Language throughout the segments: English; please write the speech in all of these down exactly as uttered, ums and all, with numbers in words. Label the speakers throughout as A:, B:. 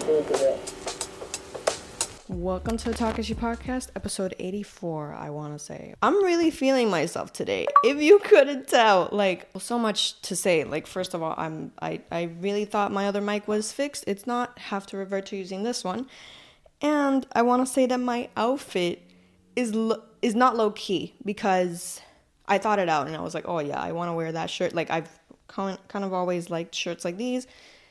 A: Welcome to the Takashi Podcast, episode eighty-four, I want to say. I'm really feeling myself today, if you couldn't tell. Like, so much to say. Like, first of all, I'm, I, I really thought my other mic was fixed. It's not. Have to revert to using this one. And I want to say that my outfit is lo- is not low-key, because I thought it out, and I was like, oh, yeah, I want to wear that shirt. Like, I've kind of always liked shirts like these.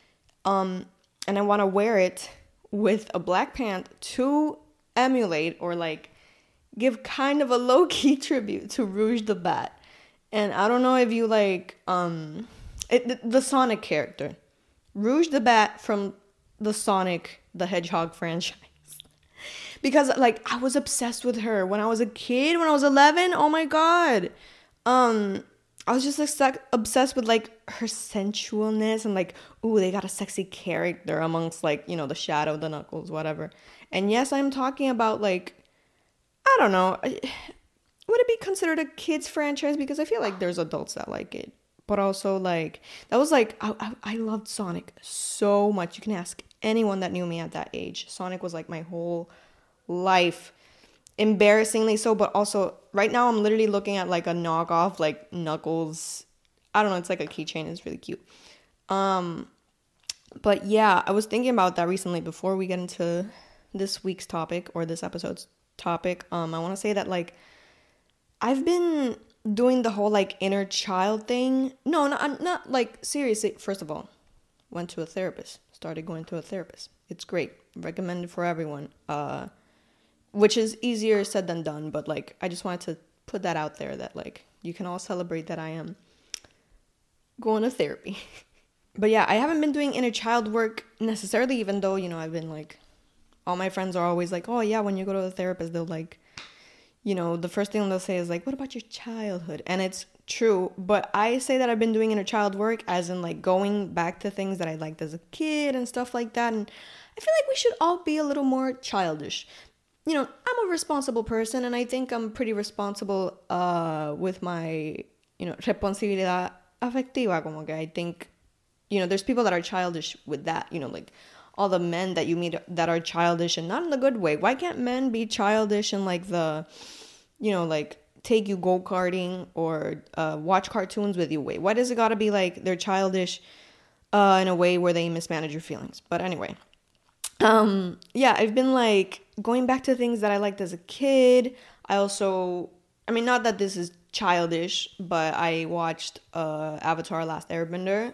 A: Um, and I want to wear it with a black pant to emulate or like give kind of a low-key tribute to Rouge the Bat. And I don't know if you like um it, the, the Sonic character, Rouge the Bat from the Sonic the Hedgehog franchise, because like I was obsessed with her when I was a kid, when I was eleven. Oh my god. um I was just like, obsessed with like her sensualness and like, ooh, they got a sexy character amongst like, you know, the Shadow, the Knuckles, whatever. And yes, I'm talking about like, I don't know, would it be considered a kid's franchise? Because I feel like there's adults that like it. But also like, that was like, I, I, I loved Sonic so much. You can ask anyone that knew me at that age. Sonic was like my whole life. Embarrassingly so, but also right now I'm literally looking at like a knockoff like Knuckles. I don't know, it's like a keychain. It's really cute. Um but yeah, I was thinking about that recently before we get into this week's topic or this episode's topic. um I want to say that like I've been doing the whole like inner child thing. No, not, not like seriously. First of all, went to a therapist, started going to a therapist. It's great, recommended for everyone. uh Which is easier said than done, but like I just wanted to put that out there that like you can all celebrate that I am going to therapy. But yeah, I haven't been doing inner child work necessarily, even though, you know, I've been like, all my friends are always like, oh yeah, when you go to the therapist, they'll like, you know, the first thing they'll say is like, what about your childhood? And it's true, but I say that I've been doing inner child work as in like going back to things that I liked as a kid and stuff like that. And I feel like we should all be a little more childish. You know, I'm a responsible person, and I think I'm pretty responsible uh, with my, you know, responsabilidad afectiva. Como que I think, you know, there's people that are childish with that. You know, like all the men that you meet that are childish and not in the good way. Why can't men be childish and like the, you know, like take you go-karting or uh, watch cartoons with you way? Why does it gotta be like they're childish uh, in a way where they mismanage your feelings? But anyway. Um, yeah, I've been like going back to things that I liked as a kid. I also, I mean, not that this is childish, but I watched uh, Avatar: Last Airbender.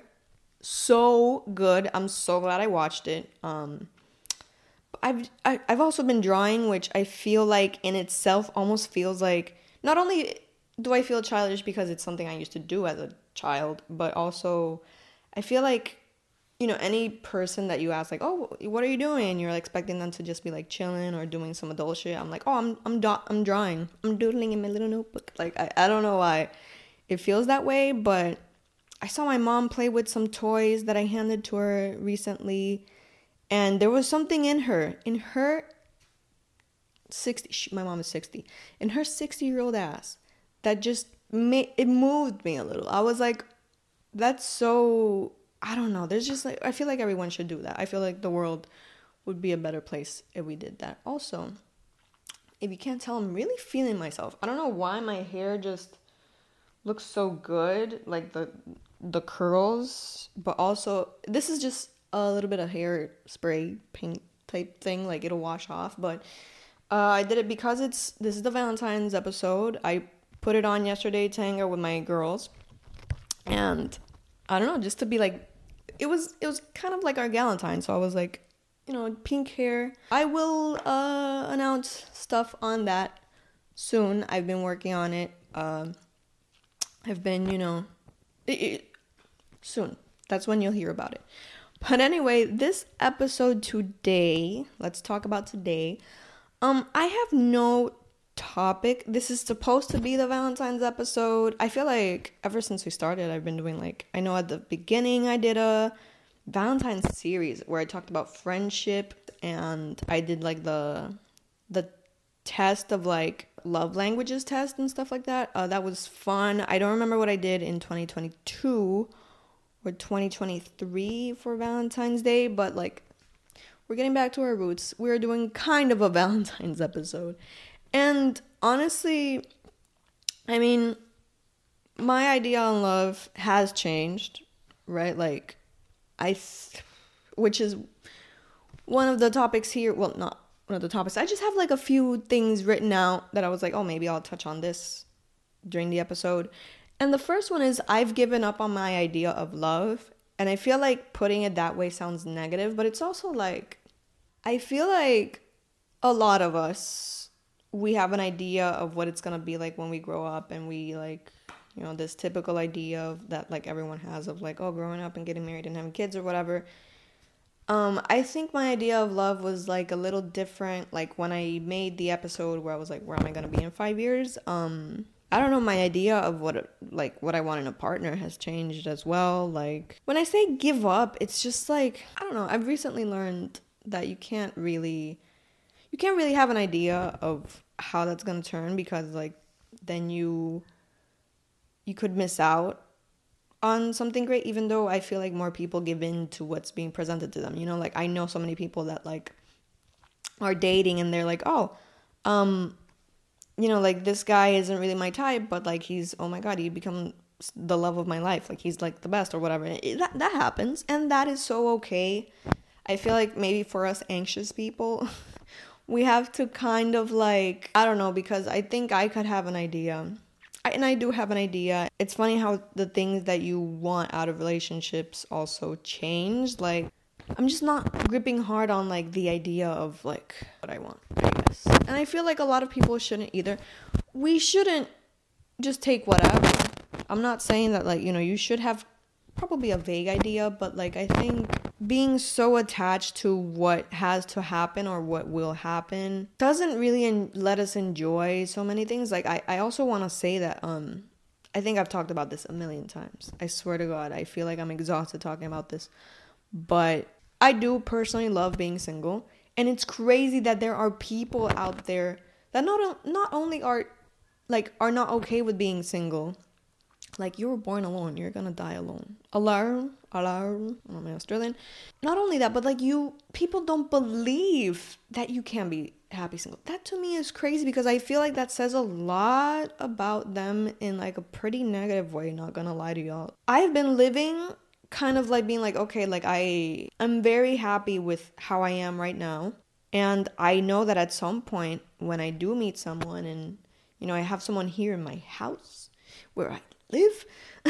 A: So good. I'm so glad I watched it. Um, I've I, I've also been drawing, which I feel like in itself almost feels like, not only do I feel childish because it's something I used to do as a child, but also I feel like, you know, any person that you ask, like, oh, what are you doing? You're like, expecting them to just be like chilling or doing some adult shit. I'm like, oh, I'm I'm do- I'm drawing. I'm doodling in my little notebook. Like, I, I don't know why it feels that way, but I saw my mom play with some toys that I handed to her recently, and there was something in her, in her sixty, she, my mom is sixty, in her sixty-year-old ass that just made, it moved me a little. I was like, that's so... I don't know. There's just like, I feel like everyone should do that. I feel like the world would be a better place if we did that. Also, if you can't tell, I'm really feeling myself. I don't know why my hair just looks so good. Like the the curls. But also, this is just a little bit of hair spray paint type thing. Like it'll wash off. But uh, I did it because it's, this is the Valentine's episode. I put it on yesterday to hang out with my girls. And I don't know, just to be like, it was it was kind of like our Galentine, so I was like, you know, pink hair. I will uh, announce stuff on that soon. I've been working on it. Um, I've been, you know, it, it, soon. That's when you'll hear about it. But anyway, this episode today, let's talk about today. Um, I have no topic. This is supposed to be the Valentine's episode. I feel like ever since we started, I've been doing like, I know at the beginning I did a Valentine's series where I talked about friendship, and I did like the the test of like love languages test and stuff like that. Uh, that was fun. I don't remember what I did in twenty twenty-two or twenty twenty-three for Valentine's Day, but like we're getting back to our roots. We're doing kind of a Valentine's episode. And honestly, I mean, my idea on love has changed, right? Like, I, th- which is one of the topics here. Well, not one of the topics. I just have like a few things written out that I was like, oh, maybe I'll touch on this during the episode. And the first one is I've given up on my idea of love. And I feel like putting it that way sounds negative, but it's also like, I feel like a lot of us, we have an idea of what it's going to be like when we grow up, and we like, you know, this typical idea of that like everyone has of like, oh, growing up and getting married and having kids or whatever. Um, I think my idea of love was like a little different. Like when I made the episode where I was like, where am I going to be in five years? Um, I don't know, my idea of what like what I want in a partner has changed as well. Like when I say give up, it's just like, I don't know. I've recently learned that you can't really, you can't really have an idea of how that's going to turn, because like then you, you could miss out on something great, even though I feel like more people give in to what's being presented to them. You know, like I know so many people that like are dating and they're like, oh, um, you know, like this guy isn't really my type, but like he's, oh my God, he become the love of my life. Like he's like the best or whatever. It, that, that happens. And that is so okay. I feel like maybe for us anxious people, we have to kind of like, I don't know, because I think I could have an idea. I, and I do have an idea. It's funny how the things that you want out of relationships also change. Like, I'm just not gripping hard on like the idea of like what I want, I guess. And I feel like a lot of people shouldn't either. We shouldn't just take whatever. I'm not saying that like, you know, you should have probably a vague idea, but like I think being so attached to what has to happen or what will happen doesn't really en- let us enjoy so many things. Like I, I also want to say that um I think I've talked about this a million times. I swear to God, I feel like I'm exhausted talking about this. But I do personally love being single, and it's crazy that there are people out there that not not only are like are not okay with being single. Like, you were born alone, you're gonna die alone. Alone, alone. I'm Australian. Not only that, but like you, people don't believe that you can be happy single. That to me is crazy, because I feel like that says a lot about them in like a pretty negative way. Not gonna lie to y'all. I've been living kind of like being like, okay, like I I'm very happy with how I am right now, and I know that at some point when I do meet someone, and you know I have someone here in my house where I live,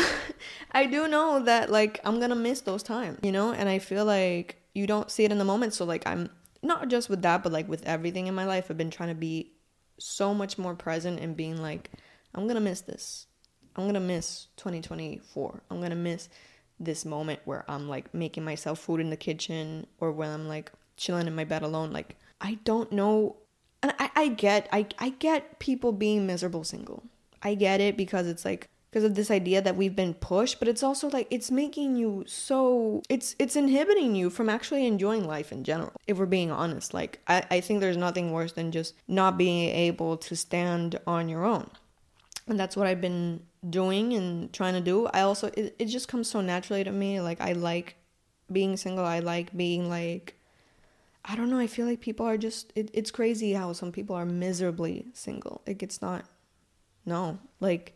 A: I do know that like I'm gonna miss those times, you know. And I feel like you don't see it in the moment. So like I'm not just with that, but like with everything in my life, I've been trying to be so much more present and being like, I'm gonna miss this. I'm gonna miss twenty twenty-four. I'm gonna miss this moment where I'm like making myself food in the kitchen, or when I'm like chilling in my bed alone. Like I don't know. And I, I get I, I get people being miserable single. I get it, because it's like because of this idea that we've been pushed, but it's also like it's making you so it's it's inhibiting you from actually enjoying life in general, if we're being honest. Like I, I think there's nothing worse than just not being able to stand on your own. And that's what I've been doing and trying to do. I also it, it just comes so naturally to me. Like I like being single. I like being like, I don't know, I feel like people are just it, it's crazy how some people are miserably single. Like it's not no like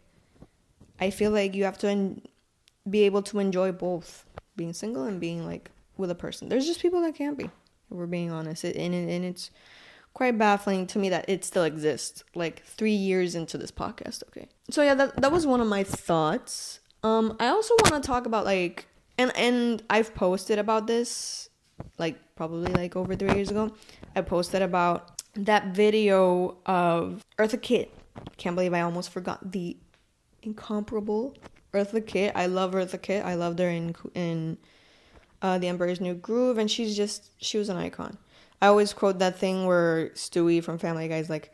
A: I feel like you have to en- be able to enjoy both being single and being like with a person. There's just people that can't be, if we're being honest. It, and, it, and it's quite baffling to me that it still exists like three years into this podcast. Okay. So yeah, that, that was one of my thoughts. Um, I also want to talk about like, and, and I've posted about this like probably like over three years ago. I posted about that video of Eartha Kitt. Can't believe I almost forgot the incomparable Eartha Kitt. I love Eartha Kitt. I loved her in in uh, The Emperor's New Groove, and she's just she was an icon. I always quote that thing where Stewie from Family Guy is like,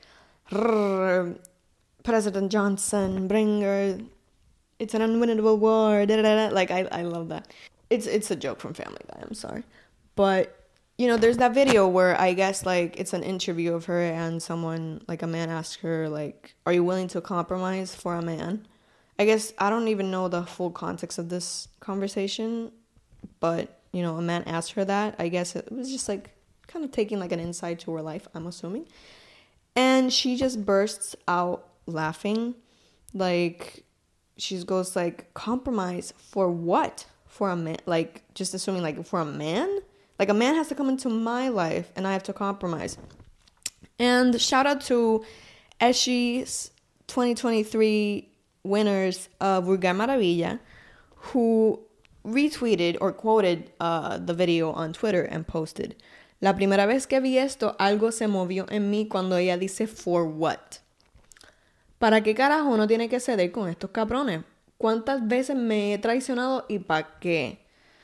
A: President Johnson, bring her. It's an unwinnable war. Da, da, da. Like I, I love that. It's it's a joke from Family Guy. I'm sorry, but you know, there's that video where I guess like it's an interview of her, and someone like a man asks her like, "Are you willing to compromise for a man?" I guess I don't even know the full context of this conversation, but, you know, a man asked her that. I guess it was just, like, kind of taking like an insight to her life, I'm assuming. And she just bursts out laughing. Like, she goes like, compromise for what? For a man? Like, just assuming like for a man? Like, a man has to come into my life and I have to compromise. And shout out to Eshi's twenty twenty-three winners of Vulgar Maravilla, who retweeted or quoted uh, the video on Twitter and posted, La primera vez que vi esto, algo se movió en mí cuando ella dice for what. ¿Para qué carajo uno tiene que ceder con estos cabrones? ¿Cuántas veces me he traicionado y para qué?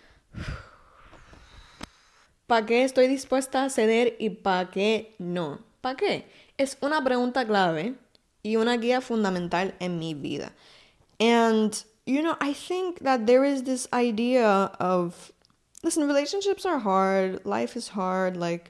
A: ¿Para qué estoy dispuesta a ceder y para qué no? ¿Para qué? Es una pregunta clave y una guía fundamental en mi vida. And, you know, I think that there is this idea of, listen, relationships are hard. Life is hard. Like,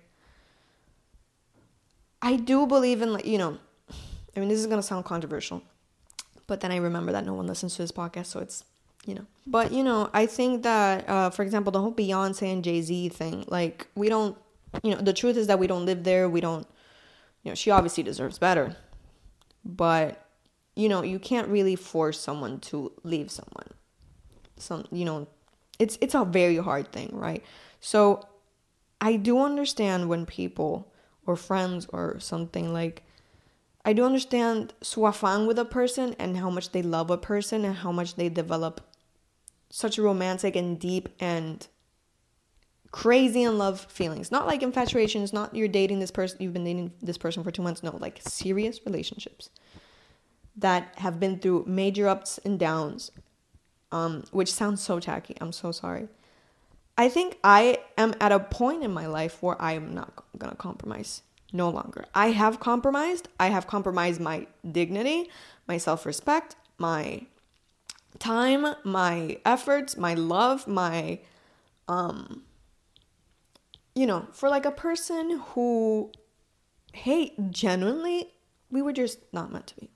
A: I do believe in, like, you know, I mean, this is going to sound controversial, but then I remember that no one listens to this podcast, so it's, you know. But, you know, I think that, uh, for example, the whole Beyonce and Jay-Z thing, like, we don't, you know, the truth is that we don't live there. We don't, you know, she obviously deserves better. But, you know, you can't really force someone to leave someone. Some, you know, it's it's a very hard thing, right? So I do understand when people or friends or something, like, I do understand su afán with a person and how much they love a person and how much they develop such romantic and deep and crazy in love feelings. Not like infatuations, not you're dating this person, you've been dating this person for two months. No, like serious relationships that have been through major ups and downs, um, which sounds so tacky. I'm so sorry. I think I am at a point in my life where I am not going to compromise. No longer. I have compromised. I have compromised my dignity, my self-respect, my time, my efforts, my love, my, um, you know, for like a person who, hey, genuinely, we were just not meant to be.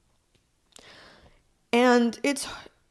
A: And it's,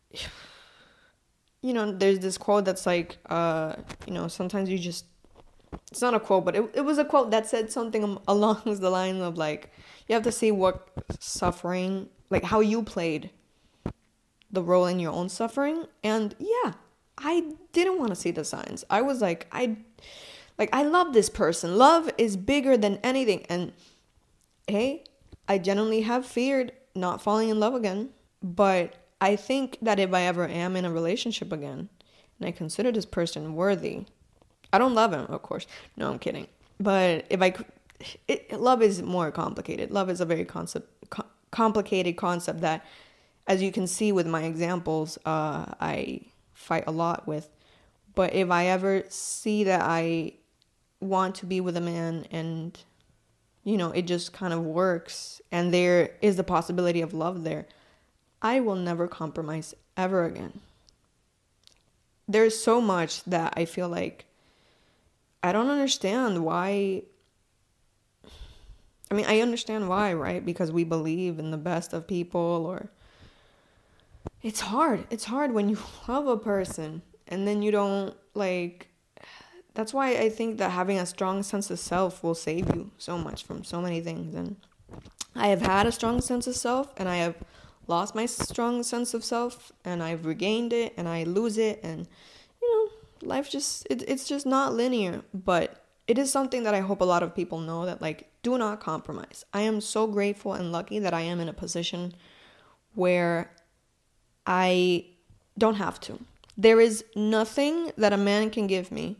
A: you know, there's this quote that's like, uh, you know, sometimes you just, it's not a quote, but it, it was a quote that said something along the line of like, you have to see what suffering, like how you played the role in your own suffering. And yeah, I didn't want to see the signs. I was like, I, like, I love this person. Love is bigger than anything. And hey, I genuinely have feared not falling in love again. But I think that if I ever am in a relationship again, and I consider this person worthy, I don't love him, of course. No, I'm kidding. But if I, it, love is more complicated. Love is a very concept, co- complicated concept that, as you can see with my examples, uh, I fight a lot with. But if I ever see that I want to be with a man and, you know, it just kind of works and there is the possibility of love there, I will never compromise ever again. There's so much that I feel like I don't understand why. I mean, I understand why, right? Because we believe in the best of people, or it's hard. It's hard when you love a person and then you don't, like, that's why I think that having a strong sense of self will save you so much from so many things. And I have had a strong sense of self and I have lost my strong sense of self and I've regained it and I lose it, and you know, life just it, it's just not linear. But it is something that I hope a lot of people know, that like, do not compromise. I am so grateful and lucky that I am in a position where I don't have to. There is nothing that a man can give me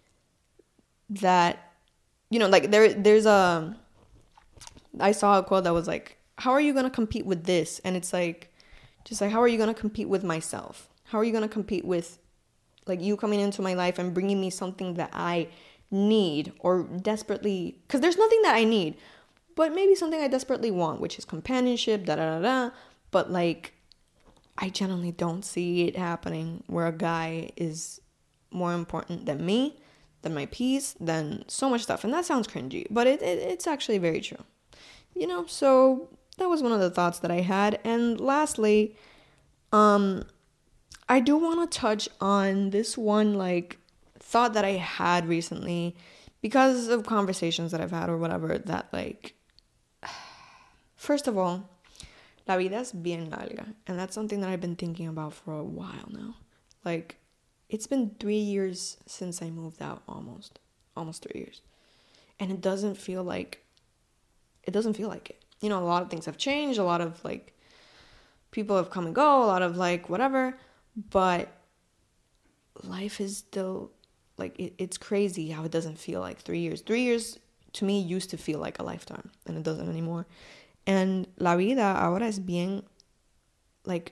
A: that, you know, like there there's a I saw a quote that was like, how are you going to compete with this? And it's like, just like, how are you going to compete with myself? How are you going to compete with, like, you coming into my life and bringing me something that I need or desperately, because there's nothing that I need, but maybe something I desperately want, which is companionship, da da da da. But like, I generally don't see it happening where a guy is more important than me, than my peace, than so much stuff. And that sounds cringy, but it, it it's actually very true. You know, so that was one of the thoughts that I had. And lastly, um, I do want to touch on this one, like, thought that I had recently, because of conversations that I've had or whatever, that like, first of all, la vida es bien larga. And that's something that I've been thinking about for a while now. Like, it's been three years since I moved out, almost. Almost three years. And it doesn't feel like, it doesn't feel like it. You know, a lot of things have changed. A lot of, like, people have come and go. A lot of, like, whatever. But life is still, like, it, it's crazy how it doesn't feel like three years. Three years, to me, used to feel like a lifetime. And it doesn't anymore. And la vida ahora es bien, like,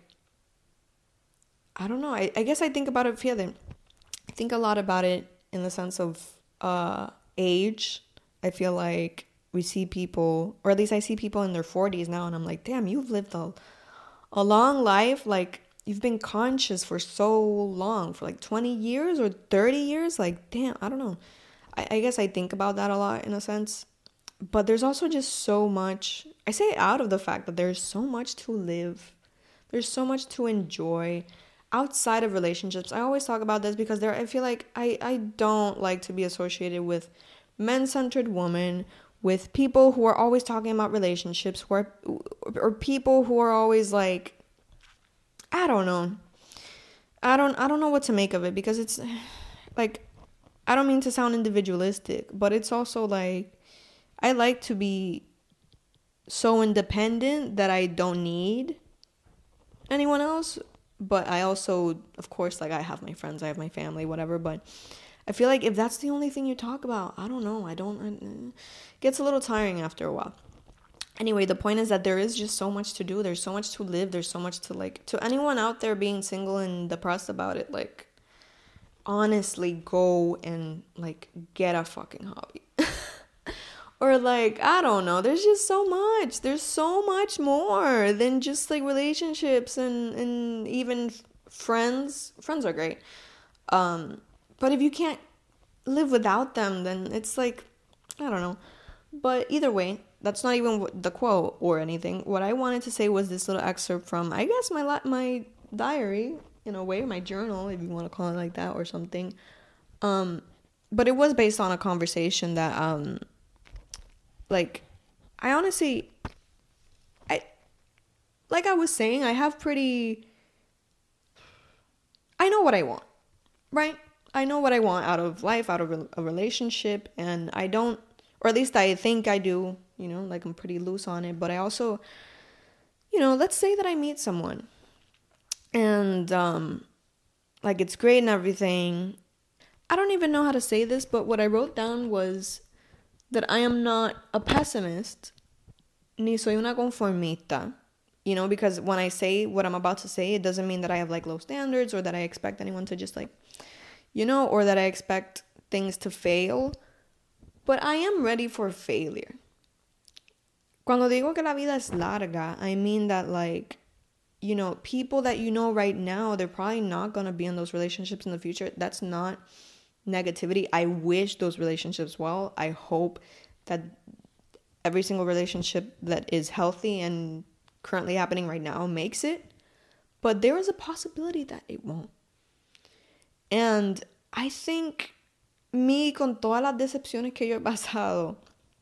A: I don't know. I, I guess I think about it further. I think a lot about it in the sense of uh, age. I feel like we see people, or at least I see people in their forties now, and I'm like, damn, you've lived a, a long life. Like, you've been conscious for so long, for like twenty years or thirty years. Like, damn, I don't know. I, I guess I think about that a lot in a sense. But there's also just so much, I say out of the fact that there's so much to live. There's so much to enjoy outside of relationships. I always talk about this because there, I feel like I, I don't like to be associated with men-centered women, with people who are always talking about relationships, who are, or people who are always like, I don't know. I don't, I don't know what to make of it, because it's like, I don't mean to sound individualistic, but it's also like, I like to be so independent that I don't need anyone else. But I also, of course, like, I have my friends, I have my family, whatever. But I feel like if that's the only thing you talk about, I don't know. I don't, it gets a little tiring after a while. Anyway, the point is that there is just so much to do. There's so much to live. There's so much to, like, to anyone out there being single and depressed about it, like, honestly, go and, like, get a fucking hobby. Or, like, I don't know. There's just so much. There's so much more than just, like, relationships and, and even f- friends. Friends are great. Um, but if you can't live without them, then it's, like, I don't know. But either way, that's not even the quote or anything. What I wanted to say was this little excerpt from, I guess, my la- my diary, in a way, my journal, if you want to call it like that or something. Um, but it was based on a conversation that... Um, Like, I honestly, I, like I was saying, I have pretty, I know what I want, right? I know what I want out of life, out of a relationship, and I don't, or at least I think I do, you know, like, I'm pretty loose on it. But I also, you know, let's say that I meet someone, and, um, like, it's great and everything. I don't even know how to say this, but what I wrote down was that I am not a pessimist, ni soy una conformista, you know, because when I say what I'm about to say, it doesn't mean that I have, like, low standards, or that I expect anyone to just, like, you know, or that I expect things to fail, but I am ready for failure. Cuando digo que la vida es larga, I mean that, like, you know, people that you know right now, they're probably not going to be in those relationships in the future. That's not negativity. I wish those relationships well. I hope that every single relationship that is healthy and currently happening right now makes it. But there is a possibility that it won't. And I think me, con todas las decepciones que yo he pasado,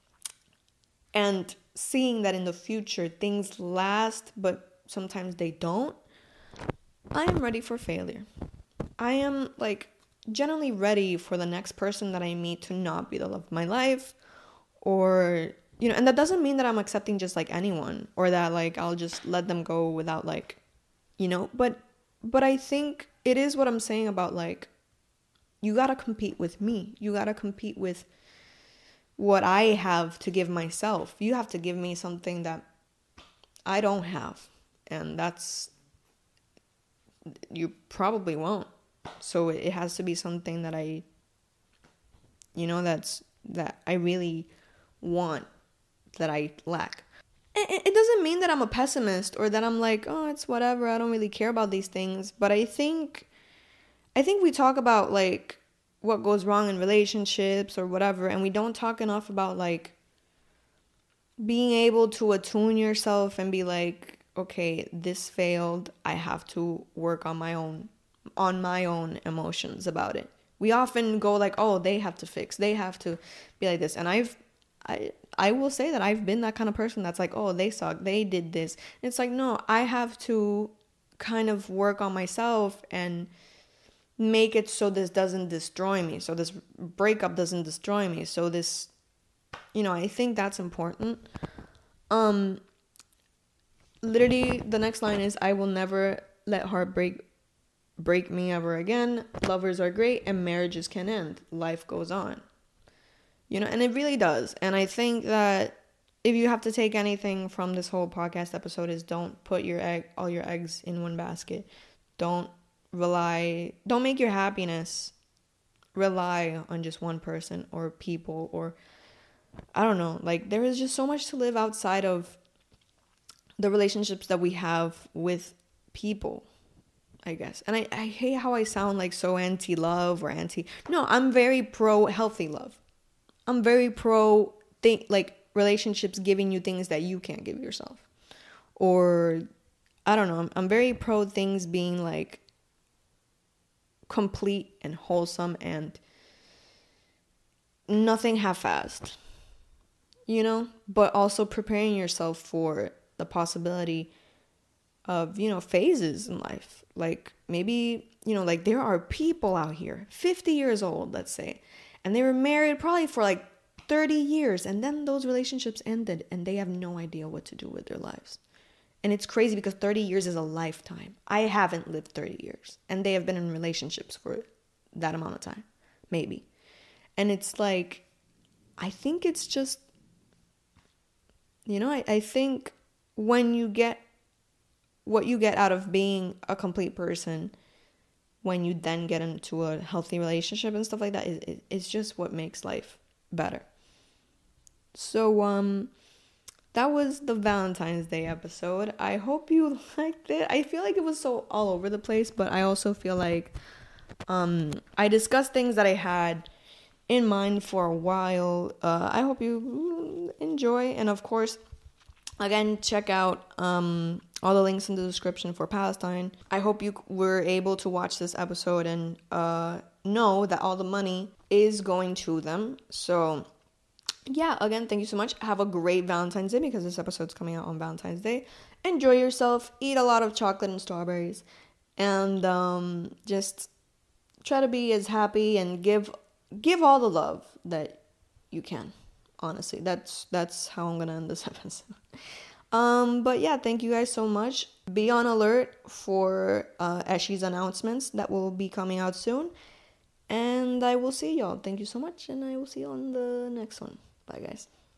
A: and seeing that in the future things last, but sometimes they don't, I am ready for failure. I am, like, generally ready for the next person that I meet to not be the love of my life, or, you know, and that doesn't mean that I'm accepting just, like, anyone, or that, like, I'll just let them go without, like, you know, but, but I think it is what I'm saying about, like, you gotta compete with me. You gotta compete with what I have to give myself. You have to give me something that I don't have, and that's, you probably won't. So it has to be something that I, you know, that's, that I really want, that I lack. It, it doesn't mean that I'm a pessimist, or that I'm like, oh, it's whatever, I don't really care about these things. But I think, I think we talk about, like, what goes wrong in relationships or whatever, and we don't talk enough about, like, being able to attune yourself and be like, okay, this failed, I have to work on my own on my own emotions about it. We often go like, oh, they have to fix, they have to be like this. And I've, I, I will say that I've been that kind of person that's like, oh, they suck, they did this. And it's like, no, I have to kind of work on myself and make it so this doesn't destroy me. So this breakup doesn't destroy me. So this, you know, I think that's important. Um, literally the next line is, I will never let heartbreak break me ever again. Lovers are great and marriages can end. Life goes on. You know, and it really does. And I think that if you have to take anything from this whole podcast episode is don't put your egg, all your eggs in one basket. Don't rely, don't make your happiness rely on just one person or people, or I don't know. Like, there is just so much to live outside of the relationships that we have with people, I guess. And I, I hate how I sound like so anti-love or anti... No, I'm very pro-healthy love. I'm very pro, think like, relationships giving you things that you can't give yourself. Or, I don't know, I'm, I'm very pro things being, like, complete and wholesome and nothing half-assed. You know? But also preparing yourself for the possibility of, you know, phases in life. Like, maybe, you know, like, there are people out here, fifty years old, let's say, and they were married probably for, like, thirty years, and then those relationships ended, and they have no idea what to do with their lives. And it's crazy because thirty years is a lifetime. I haven't lived thirty years, and they have been in relationships for that amount of time, maybe. And it's like, I think it's just, you know, I, I think when you get what you get out of being a complete person, when you then get into a healthy relationship and stuff like that, it, it, it's just what makes life better. So, um, that was the Valentine's Day episode. I hope you liked it. I feel like it was so all over the place, but I also feel like, um, I discussed things that I had in mind for a while. Uh, I hope you enjoy, and of course, again, check out um, all the links in the description for Palestine. I hope you were able to watch this episode and uh, know that all the money is going to them. So, yeah, again, thank you so much. Have a great Valentine's Day, because this episode's coming out on Valentine's Day. Enjoy yourself. Eat a lot of chocolate and strawberries. And um, just try to be as happy and give give all the love that you can. Honestly, that's that's how I'm gonna end this episode. Um, but yeah, thank you guys so much. Be on alert for uh, Eshi's announcements that will be coming out soon. And I will see y'all. Thank you so much, and I will see you on the next one. Bye, guys.